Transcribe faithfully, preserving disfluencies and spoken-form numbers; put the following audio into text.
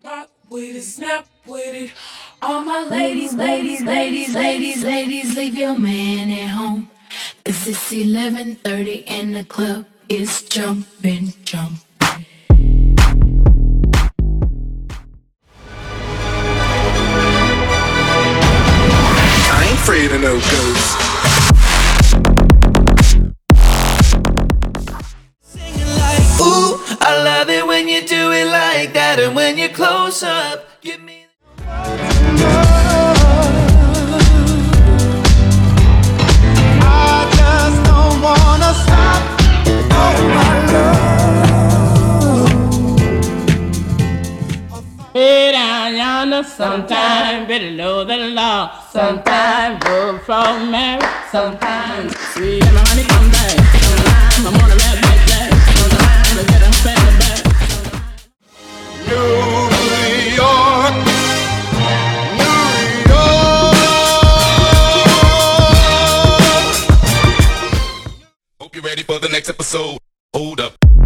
Rock with it, snap with it. All my ladies, ladies, ladies, ladies, ladies, leave your man at home. 'Cause it's eleven thirty and the club is jumping, jumping. I ain't afraid of no ghosts. Ooh, I love it when you do it like that. And when you're close up, give me I just don't wanna stop. Oh my love. Way down yonder, sometime below the law, sometime go from married, sometimes sweet and my money come back, sometimes I'm on a red back jack, sometimes I get a family back. New York, New York. Hope you're ready for the next episode. Hold up.